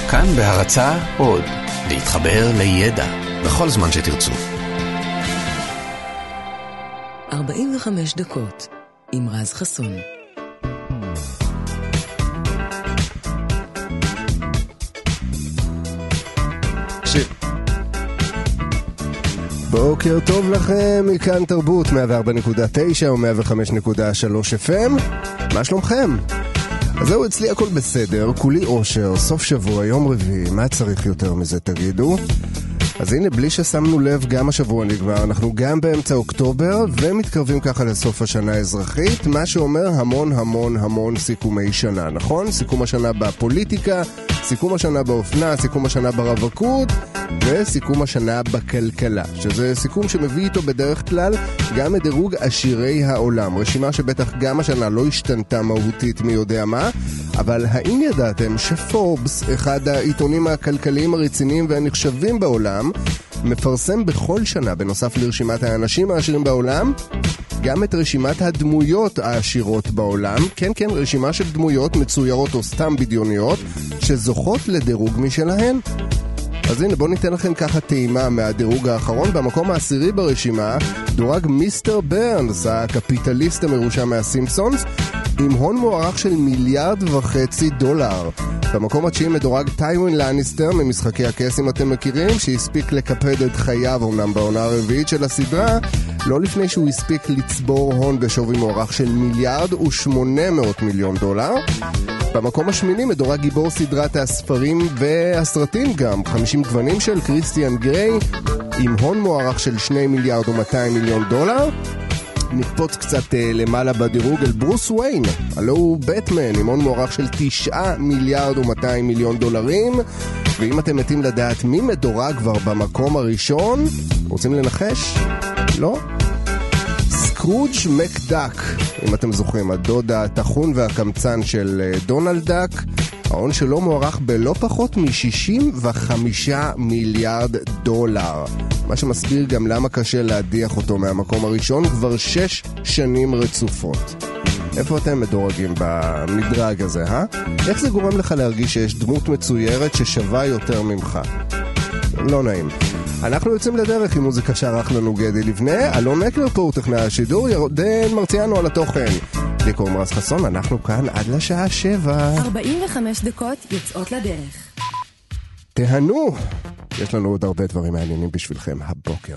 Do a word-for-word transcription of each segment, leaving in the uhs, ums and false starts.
כאן בהרצאה עוד, להתחבר לידע בכל זמן שתרצו. ארבעים וחמש דקות עם רז חסון. בוקר טוב לכם, מכאן תרבות מאה וארבע נקודה תשע או מאה וחמש נקודה שלוש אף אם. מה שלומכם? אז זהו, אצלי הכל בסדר, כולי אושר, סוף שבוע, יום רביעי, מה צריך יותר מזה תגידו? אז הנה, בלי ששמנו לב, גם השבוע נגמר, אנחנו גם באמצע אוקטובר ומתקרבים ככה לסוף השנה האזרחית, מה שאומר המון המון המון סיכומי שנה, נכון? סיכום השנה בפוליטיקה, סיכום השנה באופנה, סיכום השנה ברווקות וסיכום השנה בכלכלה, שזה סיכום שמביא איתו בדרך כלל גם את דירוג עשירי העולם, רשימה שבטח גם השנה לא השתנתה מהותית מי יודע מה, אבל האם ידעתם שפורבס, אחד העיתונים הכלכליים הרציניים והנחשבים בעולם, מפרסם בכל שנה, בנוסף לרשימת האנשים העשירים בעולם, גם את רשימת הדמויות העשירות בעולם, כן כן, רשימה של דמויות מצוירות או סתם בדיוניות, שזוכות לדירוג משלהן. אז הנה, בואו ניתן לכם ככה טעימה מהדירוג האחרון. במקום העשירי ברשימה דורג מיסטר ברנס, הקפיטליסט המרושע מהסימפסונס, עם הון מוערך של מיליארד וחצי דולר. במקום התשיעי מדורג טיווין לניסטר ממשחקי הכס, אם אתם מכירים, שהספיק לקפד את חייו אומנם בעונה הרביעית של הסדרה, לא לפני שהוא הספיק לצבור הון בשווי מוערך של מיליארד ושמונה מאות מיליון דולר. במקום השמיני מדורג גיבור סדרת הספרים והסרטים גם, חמישים גוונים של קריסטיאן גריי, עם הון מוערך של שני מיליארד ומאתיים מיליון דולר. נקפוץ קצת uh, למעלה בדירוג אל ברוס וויין, הלא הוא בטמן, עם הון מוערך של תשעה מיליארד ומאתיים מיליון דולרים. ואם אתם מתים לדעת מי מדורג כבר במקום הראשון, רוצים לנחש? לא? סקרוג' מקדק, אם אתם זוכרים, הדוד התחון והקמצן של דונלד דק, ההון שלו מוערך בלא פחות מ-שישים וחמישה מיליארד דולר, מה שמסביר גם למה קשה להדיח אותו מהמקום הראשון כבר שש שנים רצופות. איפה אתם מדורגים במדרג הזה, אה? איך זה גורם לך להרגיש שיש דמות מצוירת ששווה יותר ממך? לא נעים. אנחנו יוצאים לדרך עם מוזיקה שערך לנו גדי לבנה, אלון מקלר פה הוא טכנאי השידור, ירדן מרציאנו על התוכן. לי קוראים רז חסון, אנחנו כאן עד לשעה שבע. ארבעים וחמש דקות יוצאות לדרך. תהנו, יש לנו עוד הרבה דברים מעניינים בשבילכם הבוקר.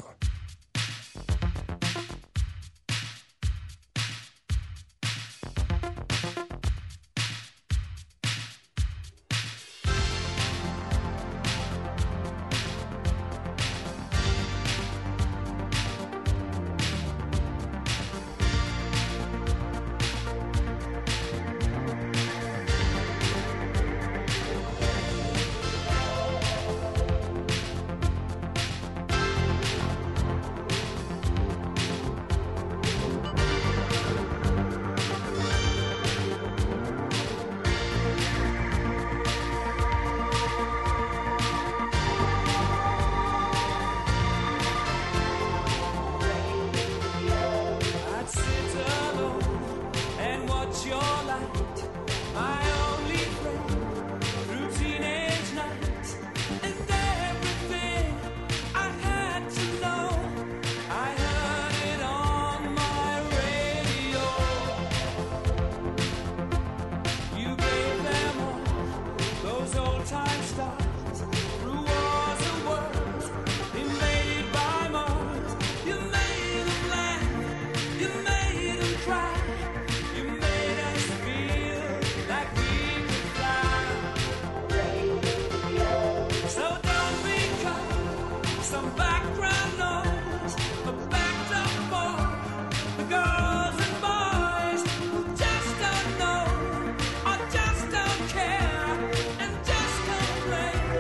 Play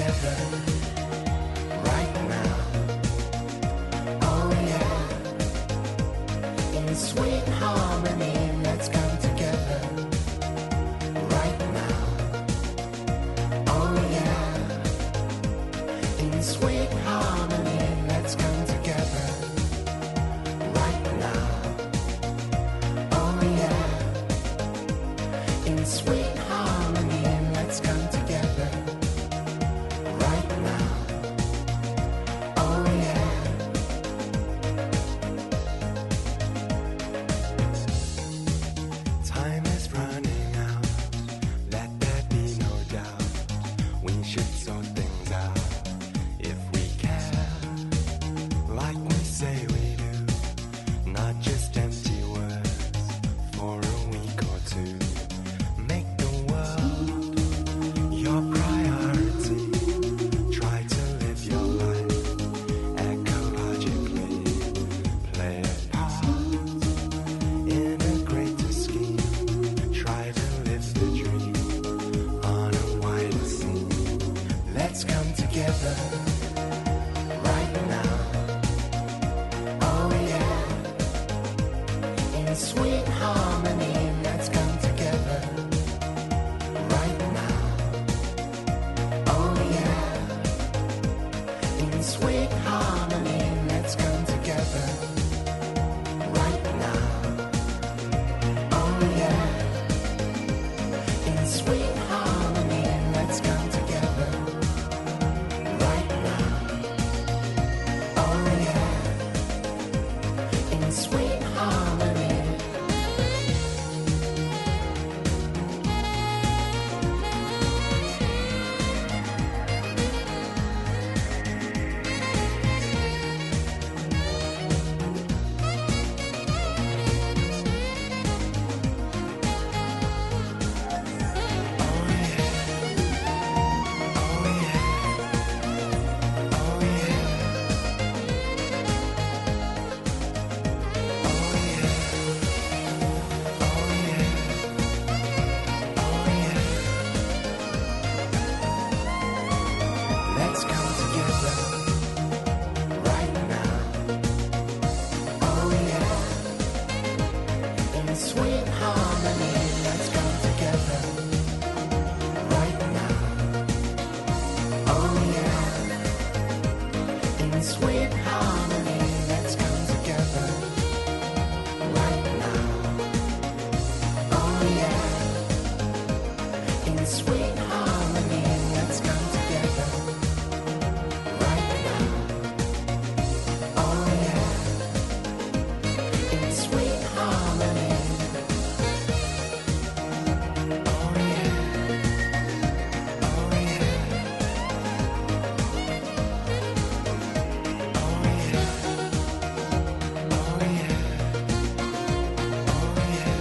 together right now. Oh yeah, in sweet harmony, let's come together right now. Oh yeah, in sweet harmony, let's come together right now. Oh yeah, in sweet harmony, let's come together right now. Oh yeah. Time is running out, let there be no doubt. We should sort things out if we care, like we say we do, not just empty words for a week or two. Make the world your priority. Try to live your life ecologically. Play a part in a greater scheme. Try to live the dream on a wider scene. Let's come together right now. Oh yeah, in sweet harmony, let's come together right now. Oh yeah, in sweet harmony, let's come together right now. Oh yeah, in sweet harmony, let's come together right now. Oh yeah, in sweet harmony. Let's come together right now. Oh yeah, in sweet harmony, let's come together right now. Oh yeah, in sweet harmony, let's come together right now. Oh yeah, in sweet harmony, let's come together right now. Oh yeah, in sweet harmony. Oh yeah, oh yeah, oh yeah, oh yeah, oh yeah.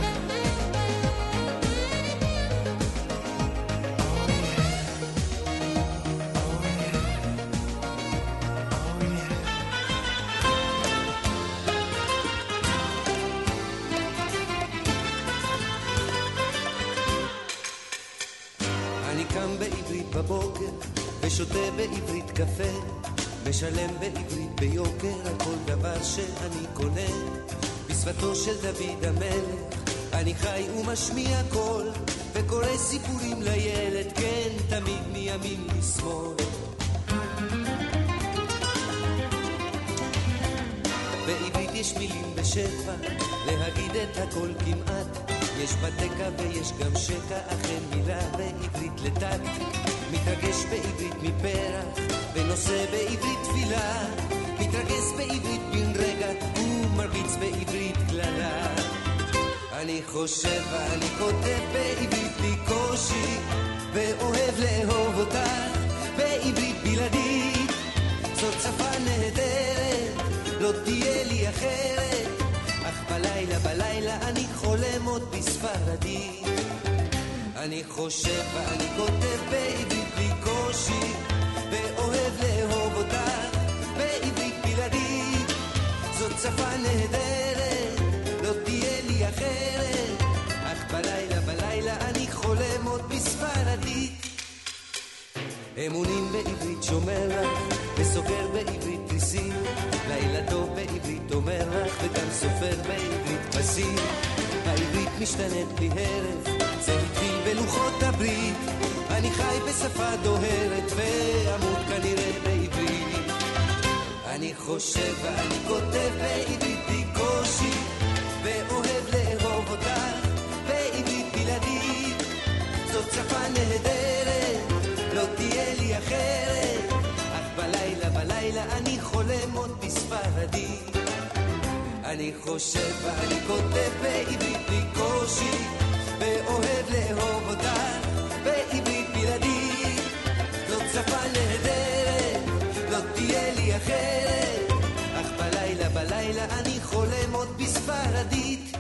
אני קם בעברית בבוקר ושותה בעברית קפה, משלם בעברית ביוקר על כל דבר שאני קונה. בשפתו של דוד המלך אני חי ומשמיע קול, וקורא סיפורים לילד, כן, תמיד מימין לשמאל. בעברית יש מילים בשפע, להגיד את הכל כמעט. יש בתקה ויש גם שקע, אכן מילה בעברית לטק. מתרגש בעברית מפרח, ונושא בעברית תפילה. מתרגש בעברית בן רגע, ומרביץ בעברית כללה. אני חושב ואני כותב בעברית בלי קושי, ואוהב לאהוב אותך בעברית בלעדית. זאת שפה נהדרת, לא תהיה לי אחרת, אך בלילה בלילה אני חולם עוד בספרדית. אני חושב ואני כותב בעברית בלי קושי, ואוהב לאהוב אותך בעברית בלעדית. זאת שפה נהדרת, לא תהיה לי אחרת, אך בלילה בלילה אני חולם עוד בספרדית. אמונים בעברית בעברית שומר לך, וסוגר בעברית תריסים, לילה טוב בעברית אומר לך, וגם סופר בעברית פסים. העברית משתנית בלי הרף, זה התחיל בלוחות הברית, אני חי בשפה דוהרת, ועמוד כנראה בעברית. אני חושב ואני כותב בעברית בקושי, ואוהב לאהוב אותך בעברית בלעדית. זאת שפה נהדרת, לא תהיה לי אחרת, אך בלילה בלילה אני חולם עוד בספרדית. אני חושב ואני כותב בעברית בקושי, ואוהב לאהוב אותך בעברית בלעדית. זאת שפה נהדרת, לא תהיה לי אחרת, אך בלילה בלילה אני חולם עוד בספרדית.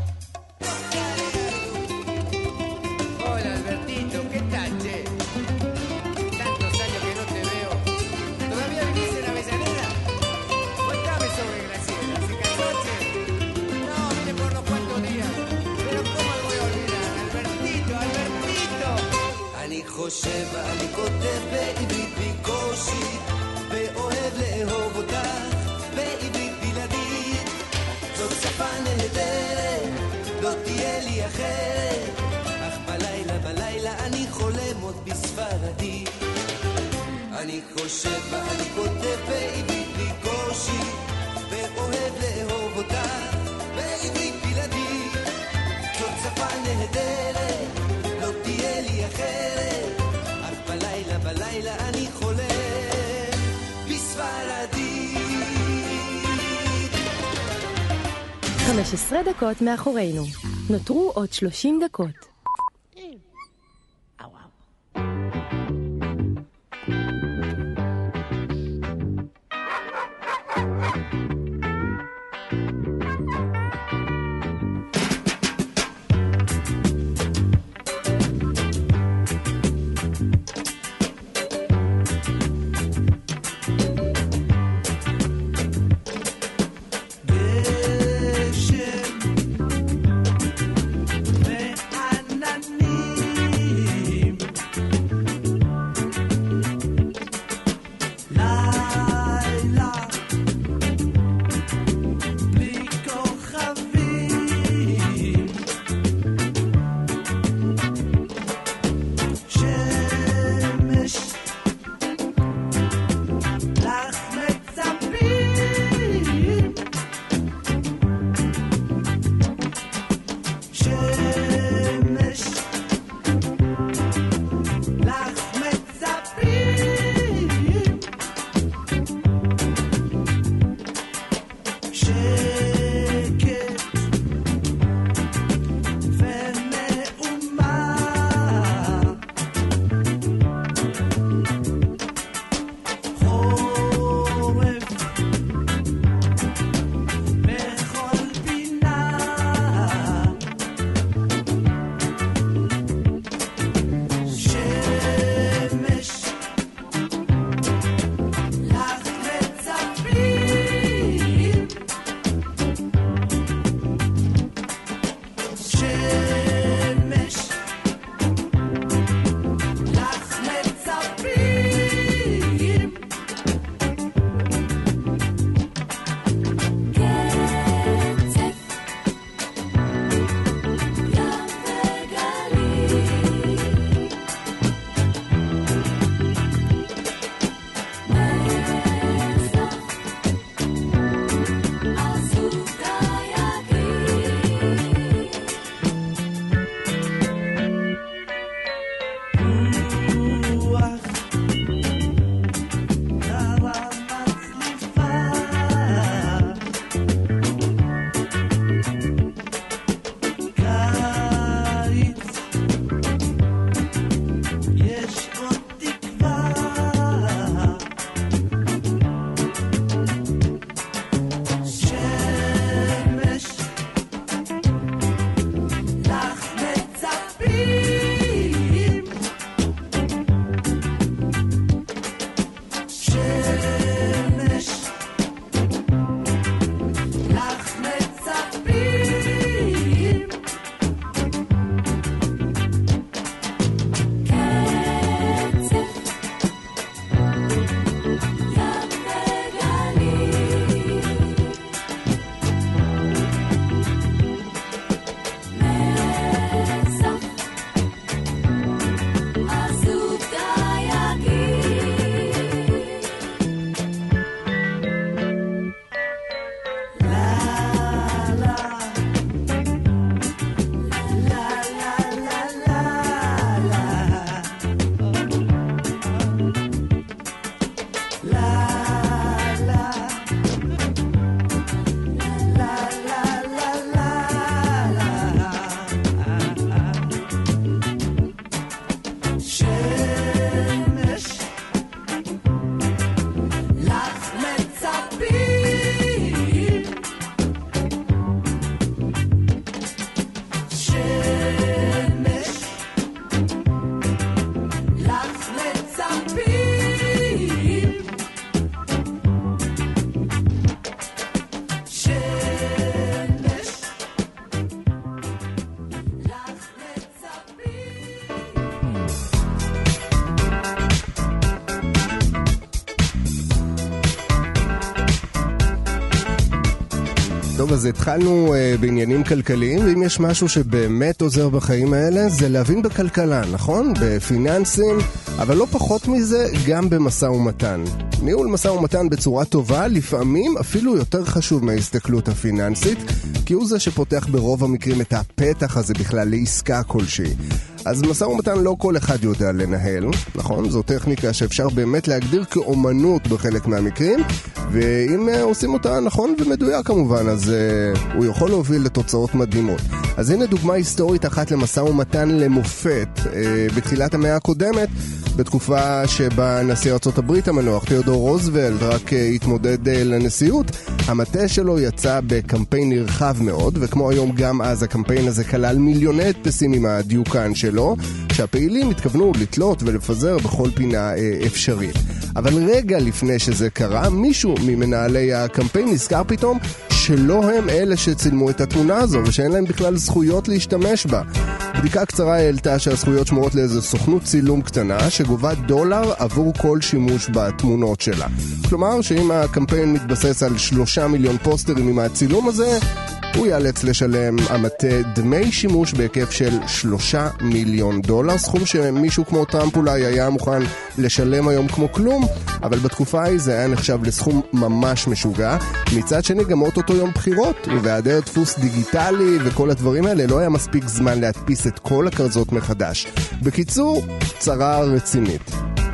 Hola Albertito, ¿qué tal, che? Tantos años que no te veo. ¿Todavía vivís en Avellaneda? Cuéntame sobre Graciela, ¿se casó, che? No, vine por unos cuantos días. Pero ¿cómo lo voy a olvidar? Albertito, Albertito. אני חושב ואני כותב בעברית בקושי, ואוהב לאהוב אותך בעברית בלעדית. זאת שפה נהדרת, לא תהיה לי אחרת, אך בלילה בלילה אני חולם עוד בספרדית. אני חושב ואני כותב בעברית בקושי, ואוהב לאהוב אותך בעברית בלעדית. זאת שפה נהדרת, לא תהיה לי אחרת, אך בלילה בלילה אני חולם בספרדית. חמש עשרה דקות מאחורינו. נותרו עוד שלושים דקות. I טוב, אז התחלנו uh, בעניינים כלכליים, ואם יש משהו שבאמת עוזר בחיים האלה, זה להבין בכלכלה, נכון? בפיננסים, אבל לא פחות מזה, גם במשא ומתן. ניהול משא ומתן בצורה טובה, לפעמים אפילו יותר חשוב מההסתכלות הפיננסית, כי הוא זה שפותח ברוב המקרים את הפתח הזה בכלל לעסקה כלשהי. אז משא ומתן לא כל אחד יודע לנהל, נכון? זו טכניקה שאפשר באמת להגדיר כאומנות בחלק מהמקרים, ואם עושים אותה נכון ומדויק כמובן, אז uh, הוא יכול להוביל לתוצאות מדהימות. אז הנה דוגמה היסטורית אחת למשא ומתן למופת uh, בתחילת המאה הקודמת, בתקופה שבה נשיא ארצות הברית המנוח תיאודור רוזוולט רק uh, התמודד uh, לנשיאות. המטה שלו יצא בקמפיין נרחב מאוד, וכמו היום גם אז הקמפיין הזה כלל מיליוני הדפסים עם הדיוקן שלו, שהפעילים התכוונו לתלות ולפזר בכל פינה uh, אפשרית. אבל רגע לפני שזה קרה, מישהו ממנהלי הקמפיין נזכר פתאום שלא הם אלה שצילמו את התמונה הזו, ושאין להם בכלל זכויות להשתמש בה. בדיקה קצרה העלתה שהזכויות שמורות לאיזו סוכנות צילום קטנה שגובה דולר עבור כל שימוש בתמונות שלה. כלומר שאם הקמפיין מתבסס על שלושה מיליון פוסטרים עם הצילום הזה, הוא ייאלץ לשלם המטה דמי שימוש בהיקף של שלושה מיליון דולר, סכום שמישהו כמו טראמפ אולי היה מוכן לשלם היום כמו כלום, אבל בתקופה ההיא זה היה נחשב לסכום ממש משוגע. מצד שני גם אותו יום בחירות, ובהיעדר דפוס דיגיטלי וכל הדברים האלה לא היה מספיק זמן להדפיס את כל הכרזות מחדש. בקיצור, צרה רצינית.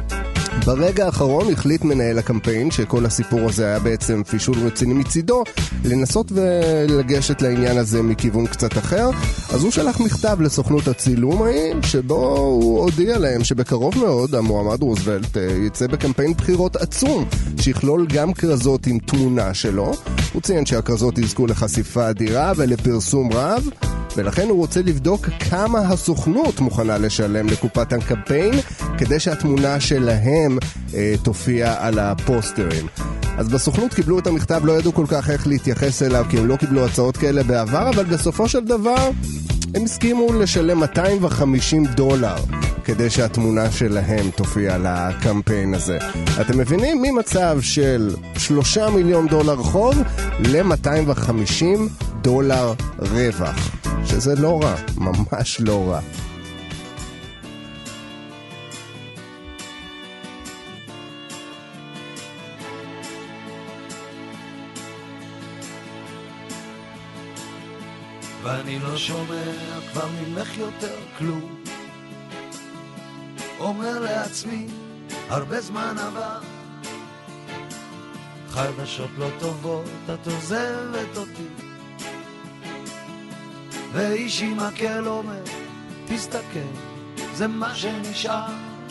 ברגע האחרון החליט מנהל הקמפיין שכל הסיפור הזה היה בעצם פישול רציני מצידו, לנסות ולגשת לעניין הזה מכיוון קצת אחר. אז הוא שלח מכתב לסוכנות הצילום ההיא, שבו הוא הודיע להם שבקרוב מאוד המועמד רוזוולט יצא בקמפיין בחירות עצום שיכלול גם כרזות עם תמונה שלו. הוא ציין שהכרזות יזכו לחשיפה אדירה ולפרסום רב, ולכן הוא רוצה לבדוק כמה הסוכנות מוכנה לשלם לקופת הקמפיין כדי שהתמונה שלהם אה, תופיע על הפוסטרים. אז בסוכנות קיבלו את המכתב, לא ידעו כל כך איך להתייחס אליו, כי הם לא קיבלו הצעות כאלה בעבר, אבל בסופו של דבר הם הסכימו לשלם מאתיים וחמישים דולר כדי שהתמונה שלהם תופיע על הקמפיין הזה. אתם מבינים? ממצב של שלושה מיליון דולר חוב ל-מאתיים וחמישים דולר רווח, שזה לא רע, ממש לא רע. ואני לא שומע כבר ממך יותר כלום, אומר לעצמי הרבה זמן עבר, חדשות לא טובות את עוזבת אותי, ואיש עם מקל אומר תסתכל, זה מה שנשאר,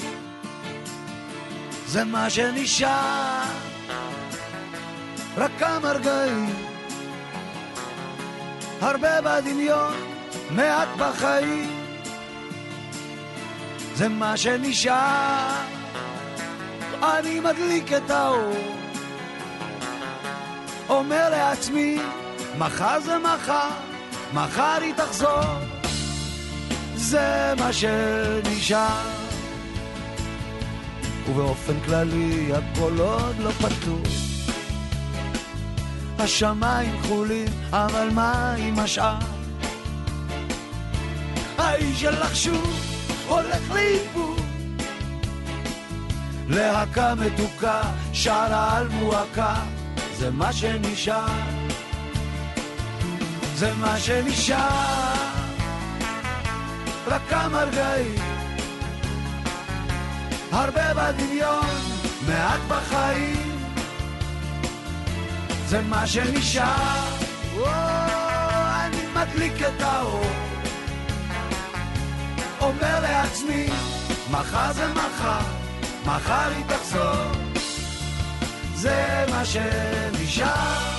זה מה שנשאר, רק כמה רגעים, הרבה בדמיון, מעט בחיים, זה מה שנשאר, אני מדליק את האור, אומר לעצמי מחר זה מחר, מחר היא תחזור, זה מה שנשאר, ובאופן כללי הכל עוד לא פתור, השמיים כחולים, אבל מה עם השאר? האיש שלך שוב הולך לאיבוד, להקה מתוקה שרה על מועקה, זה מה שנשאר, זה מה שנשאר, רק כמה רגעים, הרבה בדמיון, מעט בחיים, זה מה שנשאר. או, אני מדליק את האור, אומר לעצמי, מחר זה מחר, מחר היא תחזור, זה מה שנשאר.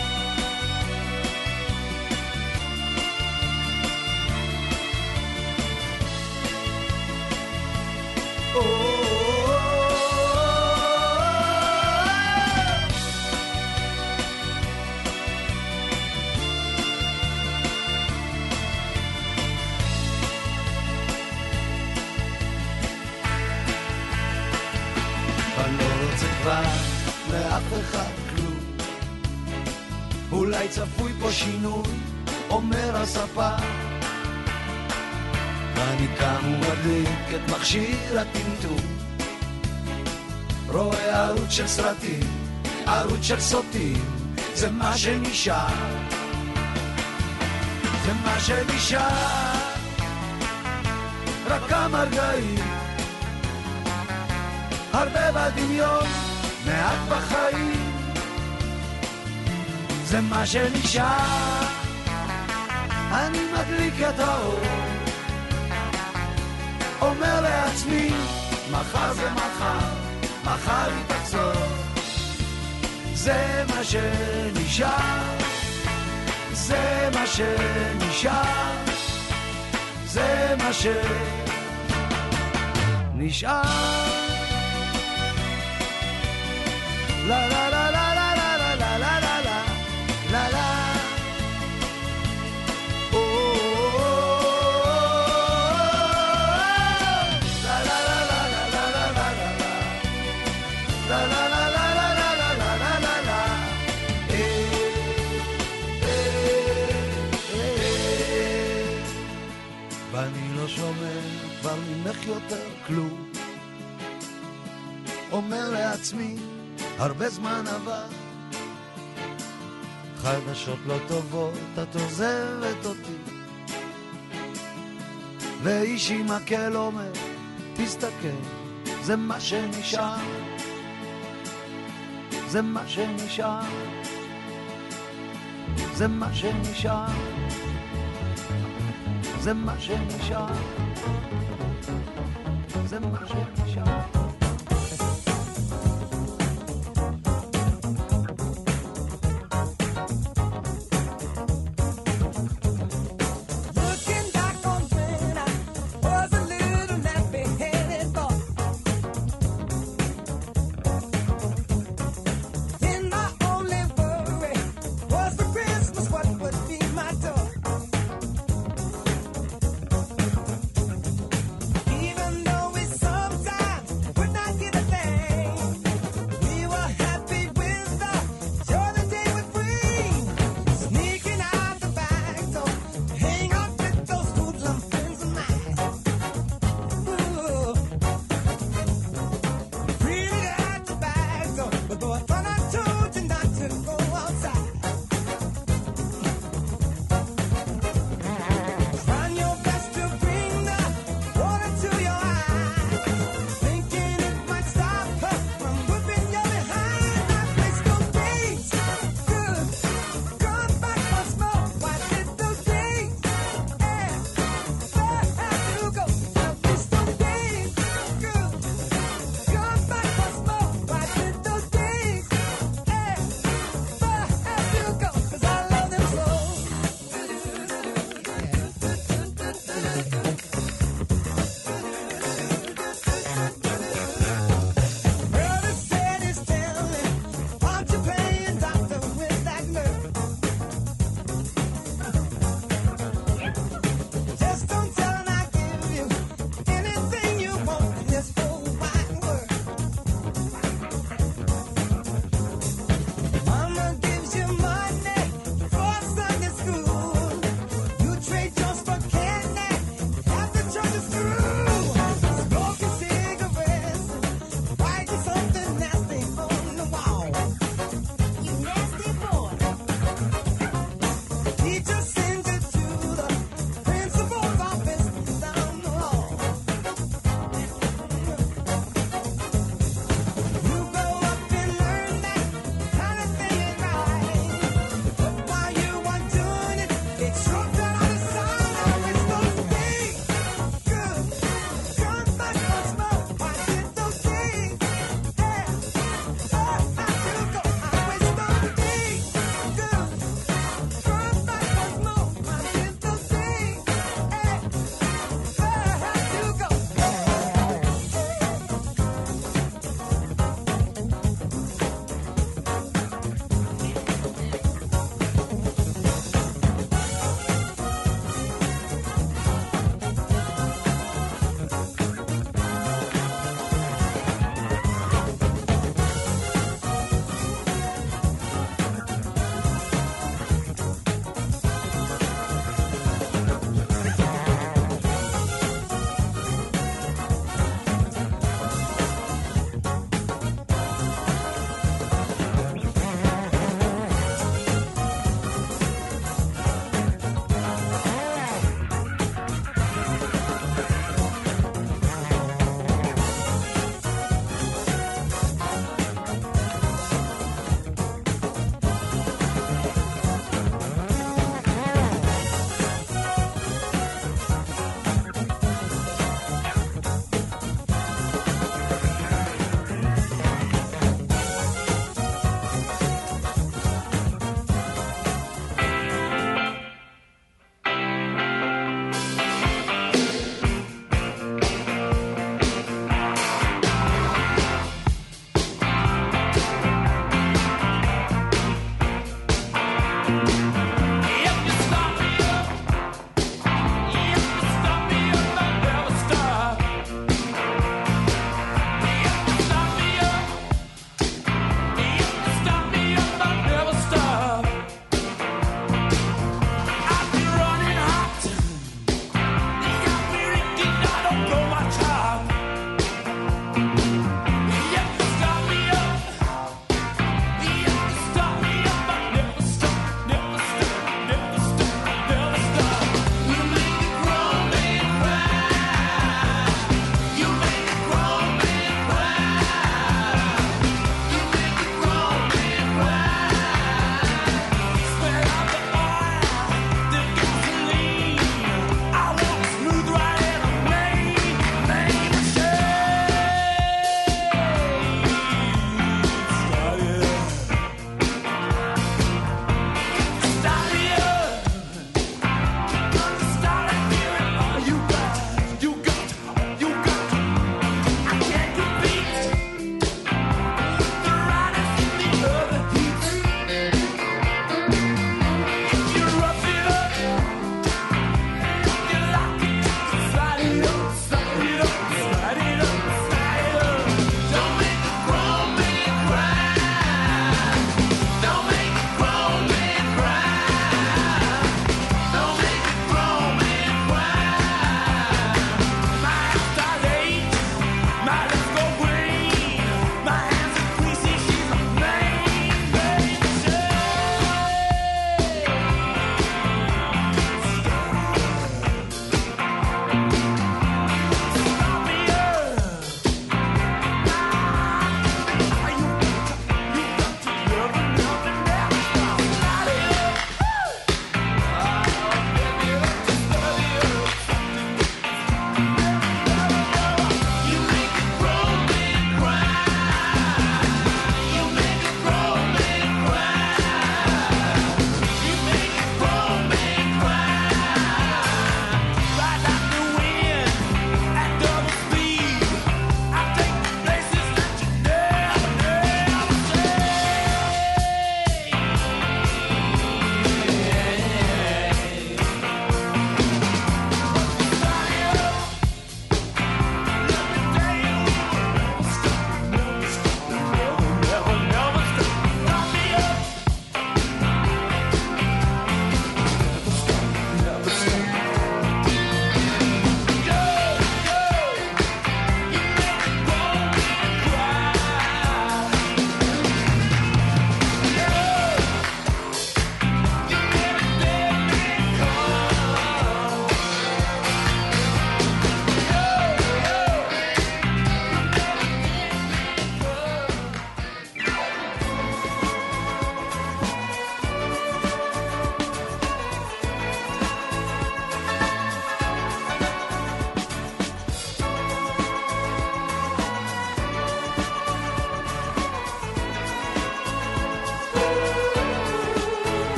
לאף אחד כלום, אולי צפוי פה שינוי, אומר הספה. ואני קם ומדליק את מכשיר הטמטום, רואה ערוץ של סרטים, ערוץ של סוטים, זה מה שנשאר, זה מה שנשאר. רק כמה רגעים, הרבה בדמיון, מעט בחיים, זה מה שנשאר. אני מדליק את האור, אומר לעצמי, מחר זה מחר, מחר היא תחזור, זה מה שנשאר, זה מה שנשאר, זה מה שנשאר. La la la la la la la la la la la la la. Oh, la la la la la la la la la. La la la la la la la la la la la. Eh eh. ואני לא שומע כבר ממך יותר כלום, אומר לעצמי, הרבה זמן עבר, חדשות לא טובות, את עוזבת אותי, ואיש עם מקל אומר, תסתכל, זה מה שנשאר, זה מה שנשאר, זה מה שנשאר, זה מה שנשאר, זה מה שנשאר. Even though we sometimes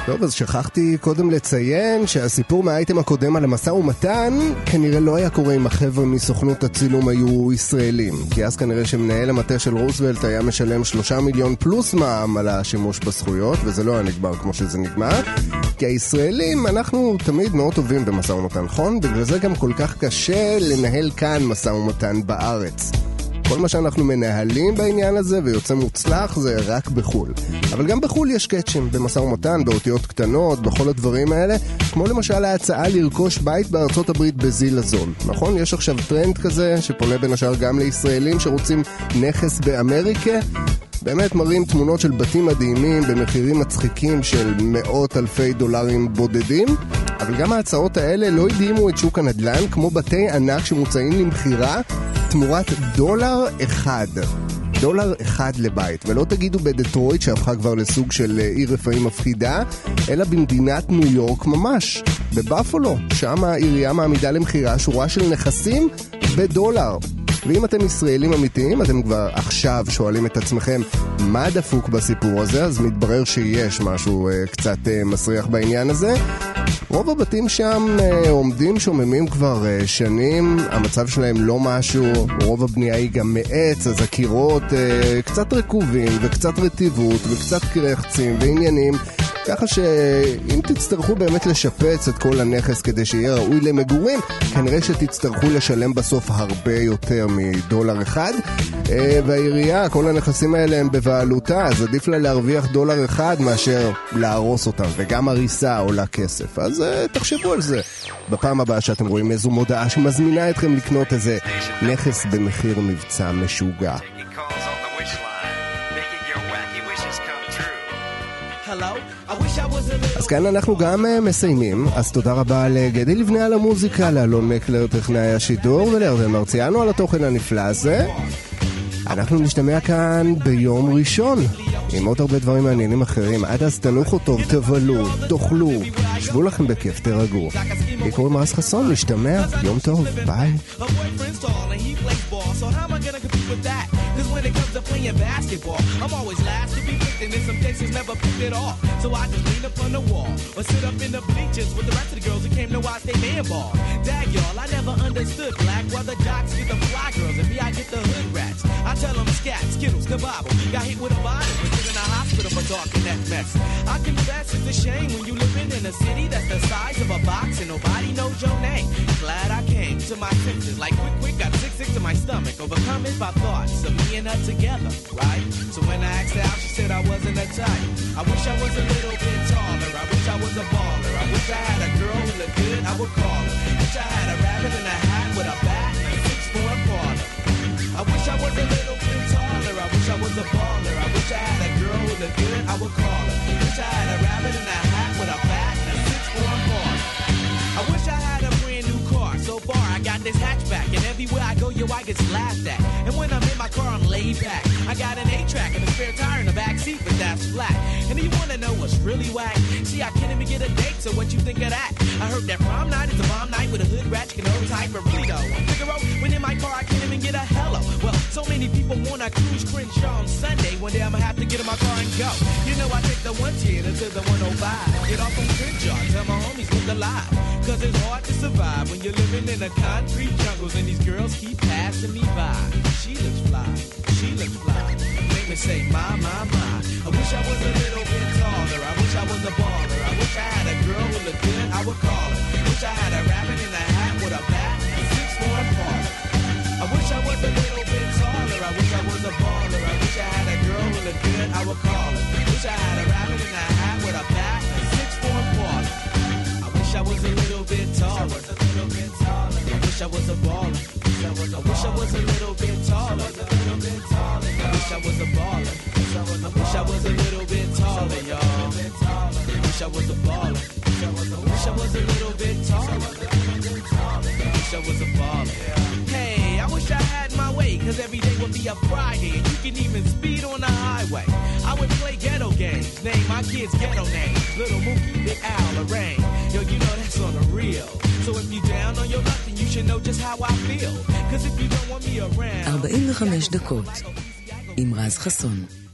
טוב, אז שכחתי קודם לציין שהסיפור מהאייטם הקודם על המשא ומתן כנראה לא היה קורה אם החבר'ה מסוכנות הצילום היו ישראלים, כי אז כנראה שמנהל המטה של רוזוולט היה משלם שלושה מיליון פלוס מע"מ על השימוש בזכויות, וזה לא היה נגמר כמו שזה נגמר, כי הישראלים אנחנו תמיד מאוד טובים במשא ומתן, נכון? בגלל זה גם כל כך קשה לנהל כאן משא ומתן בארץ. כל מה שאנחנו מנהלים בעניין הזה ויוצא מוצלח זה רק בחול. אבל גם בחול יש קאצ'ים במשא ומתן, באותיות קטנות, בכל הדברים האלה, כמו למשל ההצעה לרכוש בית בארצות הברית בזיל הזול. נכון? יש עכשיו טרנד כזה שפונה בין השאר גם לישראלים שרוצים נכס באמריקה. באמת מראים תמונות של בתים מדהימים במחירים מצחיקים של מאות אלפי דולרים בודדים, אבל גם ההצעות האלה לא הדהימו את שוק הנדל"ן כמו בתי ענק שמוצאים למחירה תמורת דולר אחד. דולר אחד לבית. ולא תגידו בדטרויט שהפכה כבר לסוג של עיר רפאים מפחידה, אלא במדינת ניו יורק ממש. בבאפלו, שם העירייה מעמידה למחירה שורה של נכסים בדולר. ואם אתם ישראלים אמיתיים, אתם כבר עכשיו שואלים את עצמכם מה דפוק בסיפור הזה, אז מתברר שיש משהו uh, קצת uh, מסריח בעניין הזה. רוב הבתים שם uh, עומדים שוממים כבר uh, שנים, המצב שלהם לא משהו, רוב הבנייה היא גם מעץ, אז הקירות uh, קצת רקובים וקצת רטיבות וקצת קרחצים ועניינים, ככה שאם תצטרכו באמת לשפץ את כל הנכס כדי שיהיה ראוי למגורים, כנראה שתצטרכו לשלם בסוף הרבה יותר מדולר אחד, והעירייה, כל הנכסים האלה הם בבעלותה, אז עדיף לה להרוויח דולר אחד מאשר להרוס אותם, וגם הריסה עולה כסף. אז תחשבו על זה בפעם הבאה שאתם רואים איזו מודעה שמזמינה אתכם לקנות איזה נכס במחיר מבצע משוגע. אז כאן אנחנו גם מסיימים, אז תודה רבה לגדי לבנה על המוזיקה, לאלון מקלר טכנאי השידור ולירדן מרציאנו על התוכן הנפלא הזה. אנחנו נשתמע כאן ביום ראשון עם עוד הרבה דברים מעניינים אחרים. עד אז תנוחו טוב, תבלו, תאכלו, שבו לכם בכיף, תרגעו. לי קוראים רז חסון, נשתמע, יום טוב, ביי. So how am I gonna compete with that? Cause when it comes to playing basketball, I'm always last to be picked, and in some cases never picked at all. So I just lean up on the wall or sit up in the bleachers with the rest of the girls who came to watch they man ball. Dag y'all, I never understood black, why the jocks get the fly girls and me I get the hood rats. I tell them scat, skittles, kabobble, got hit with a bottle, but in a hospital for talking that mess. I confess it's a shame when you living in a city that's the size of a box and nobody knows your name. Glad I came to my senses, like quick quick got sick sick to my stomach. Overcome it by thoughts of me and her together, right? So when I asked her out, she said I wasn't a type. I wish I was a little bit taller. I wish I was a baller. I wish I had a girl who looked good, I would call her. Wish I had a rabbit in a hat with a bat and a six-foot parlor. I wish I was a little bit taller. I wish I was a baller. I wish I had a girl who looked good, I would call her. Wish I had a rabbit in a hat with a bat and a six-foot parlor. I wish I had a brand new car. So far I got this hatchback, and everywhere I go, yo, I get laughed at. And when I'm in my car, I'm laid back. I got an eight-track and a spare tire in the back seat, but that's flat. And you wanna know what's really whack? See, I can't even get a date, so what you think of that? I heard that prom night is a bomb night with a hood rat, you can hold tight, but really though, I'm Figaro, when in my car, I can't even get a hello. Well, so many people wanna cruise Crenshaw on Sunday. One day I'ma have to get in my car and go. You know I take the one ten until the one oh five. Get off on Crenshaw, tell my homies look alive. Cause it's hard to survive when you're living in a concrete jungles and these girls keep passing me by. She looks fly, she looks fly. Make me say, my, my, my. I wish I was a little bit taller. I wish I was a baller. I wish I had a girl who looked good, I would call her. Wish I had a rabbit in a hat with a bat and a six-foot parlor. I wish I was a little bit taller. I wish I was a baller. I wish I had a girl who looked good, I would call her. Wish I had a rabbit in a hat with a bat and a six-foot parlor. I wish I was a little bit taller. I wish I was a baller. I wish I was a little bit taller. I wish I was a baller. I wish I was a little bit taller, y'all. I wish I was a baller. I wish I was a little bit taller. I wish I was a baller. Hey, I wish I had my way, cause every day would be a Friday, and you can even speed on the highway. I would play ghetto games, name my kids ghetto names. Little Mookie, Big Al, Lorraine. Yo, you know that's on the real. So if you down on your luck, then you should know just how I feel. Cause if you don't want me around... ארבעים וחמש דקות עם רז חסון.